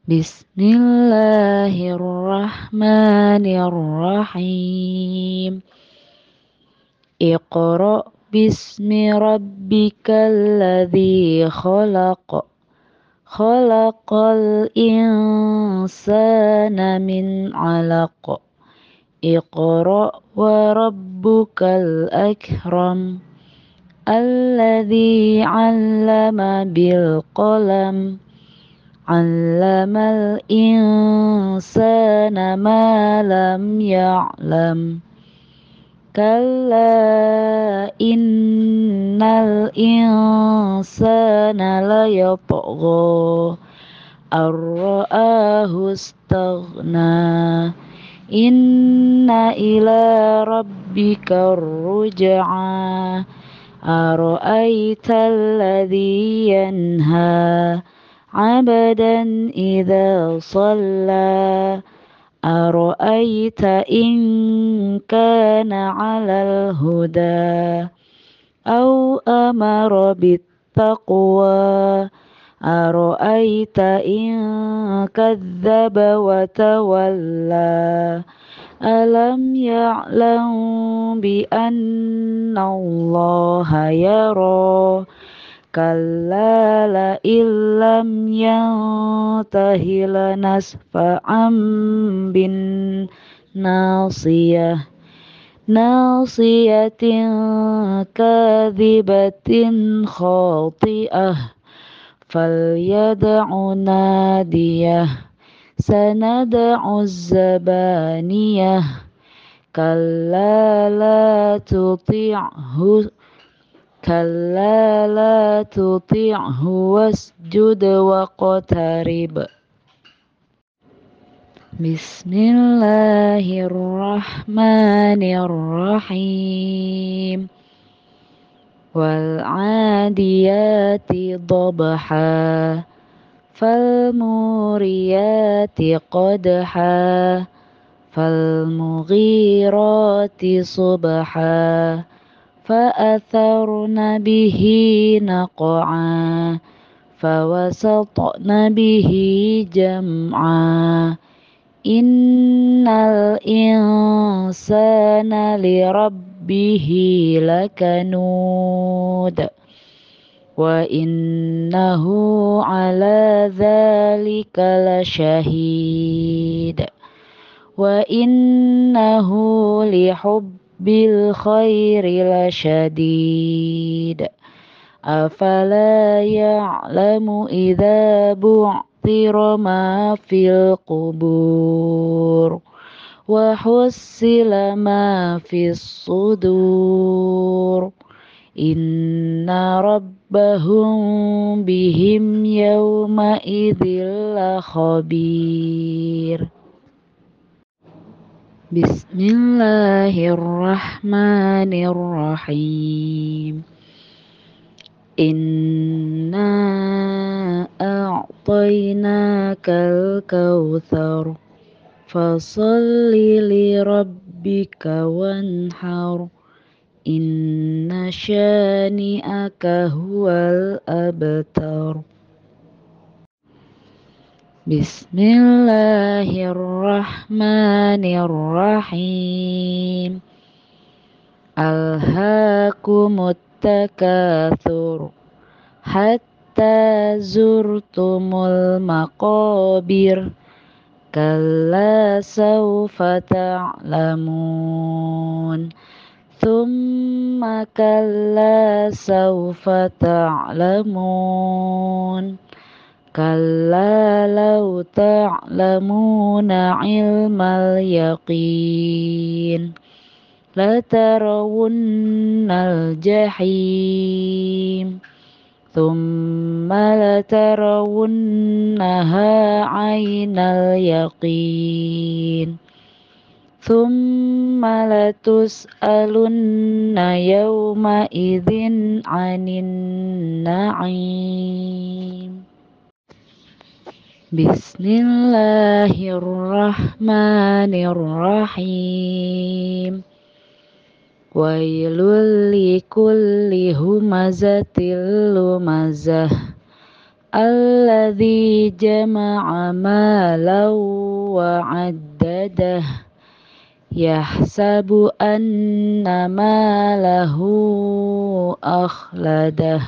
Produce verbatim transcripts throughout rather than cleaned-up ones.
Bismillahirrahmanirrahim. Iqra bismi rabbikal ladzi khalaq. Khalaqal insana min 'alaq. Iqra wa rabbukal akram. Alladzi 'allama bil qalam. 'Allamal insana ma lam ya'lam. Kalla innal insana layatgha ar-ra'ahu istaghna. Inna ila rabbika ar-ruj'a. Ara'aita alladhi yanha 'abdan idza shalla. Ara'aita in kana 'alal huda aw amara bittaqwa. Ara'aita in kadzdzaba wa tawalla. Alam ya'lam bi anna Allaha yara. Kalla la illam yantahi lanasfa'an bin nasiyah. Nasiyatin kadhibatin khati'ah. Falyad'u nadiyah. Sanad'u zabaniyah. Kalla la tuti'hu Kalla la tuti'hu wasjud waqtarib. Bismillahirrahmanirrahim. Wal 'adiyati dhabha. Fal muriyati qadha. Fal mughirati subha. فأثرن به نقعا. فوسطن به جمعا. إن الإنسان لربه لكنود. وإنه على ذلك لشهيد. وإنه لحب bil khairi lasyadid. Afala ya'lamu idza bu'thira ma fil qubur. Wa hussila ma fis sudur. Inna rabbahum bihim yawma idzil khabir. Bismillahirrahmanirrahim. Inna a'tainakal kautsar. Fasholli li rabbika wanhar. Inna syani'aka huwal abtar. Bismillahirrahmanirrahim. Alhaakumut takatsur. Hatta zurtumul maqabir. Kalla sawfa ta'lamun. Thumma kalla sawfa ta'lamun. Kalla law ta'lamuna ilmal yaqin. Latarawunnal jahim. Thumma latarawunnaha 'ainal yaqin. Thumma latus'alunna yawma idzin 'anin na'im. Bismillahirrahmanirrahim. Wailul likulli humazatil lumazah. الذي جمع مالا وعدده يحسب أن ماله أخلده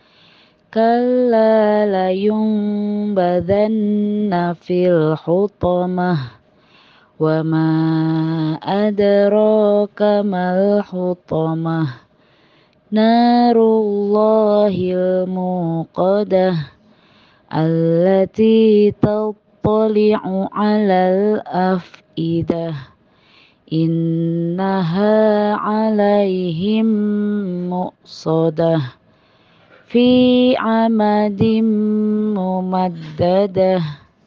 كلا لينبذن في الحطمة وما أدراك ما الحطمة نار الله الموقدة التي تطلع على الأفئدة إنها عليهم مؤصدة في عمد ممددة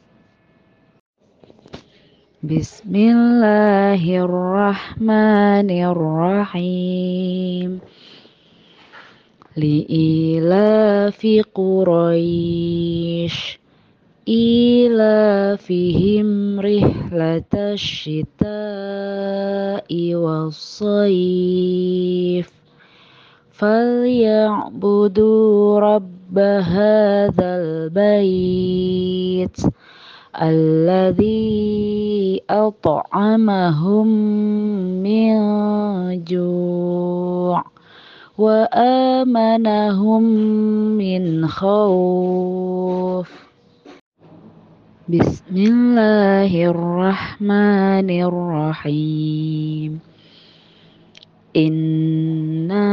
بسم الله الرحمن الرحيم لإيلاف قريش إيلافهم رحلة الشتاء والصيف فليعبدوا رب هذا البيت الذي أطعمهم من جوع وآمنهم من خوف بسم الله الرحمن الرحيم إنا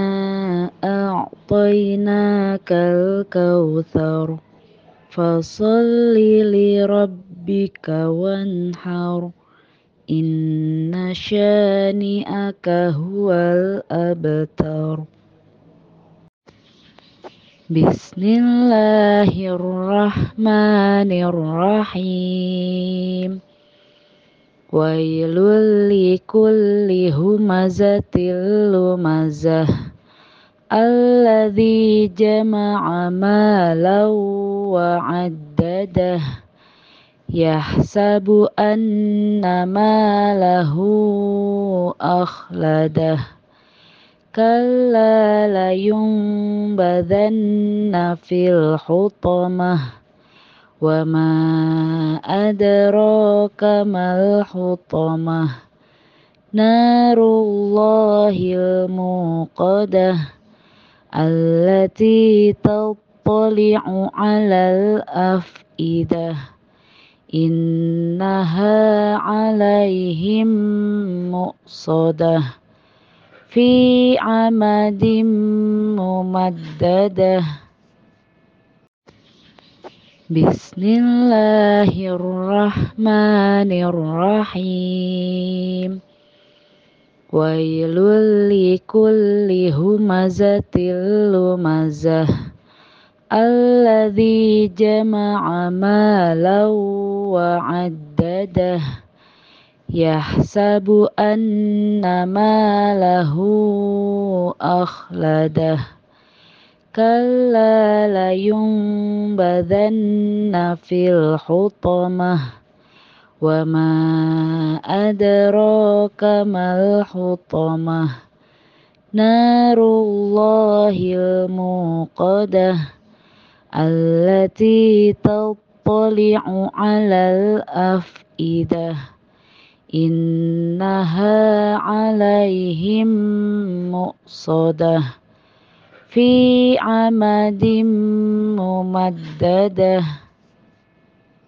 أعطيناك الكوثر فصل لربك وانحر إن شانئك هو الأبتر بسم الله الرحمن الرحيم ويل لكل همزة لمزة الذي جمع مالا وعدده يحسب أن ماله أخلده كلا لينبذن في الحطمة وما أدراك ما الحطمة نار الله الموقدة التي تطلع على الأفئدة إنها عليهم مؤصدة في عمد ممددة بسم الله الرحمن الرحيم ويل لكل همزة لمزة الذي جمع مالا وعدده يحسب أن ماله أخلده كلا لينبذن في الحطمة وما أدراك ما الحطمة نار الله الموقدة التي تطلع على الأفئدة إنها عليهم مؤصدة في عمد ممددة